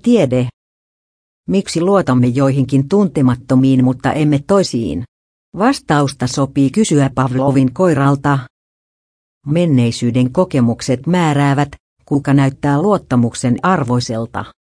tiede. Miksi luotamme joihinkin tuntemattomiin, mutta emme toisiin? Vastausta sopii kysyä Pavlovin koiralta. Menneisyyden kokemukset määräävät, kuka näyttää luottamuksen arvoiselta.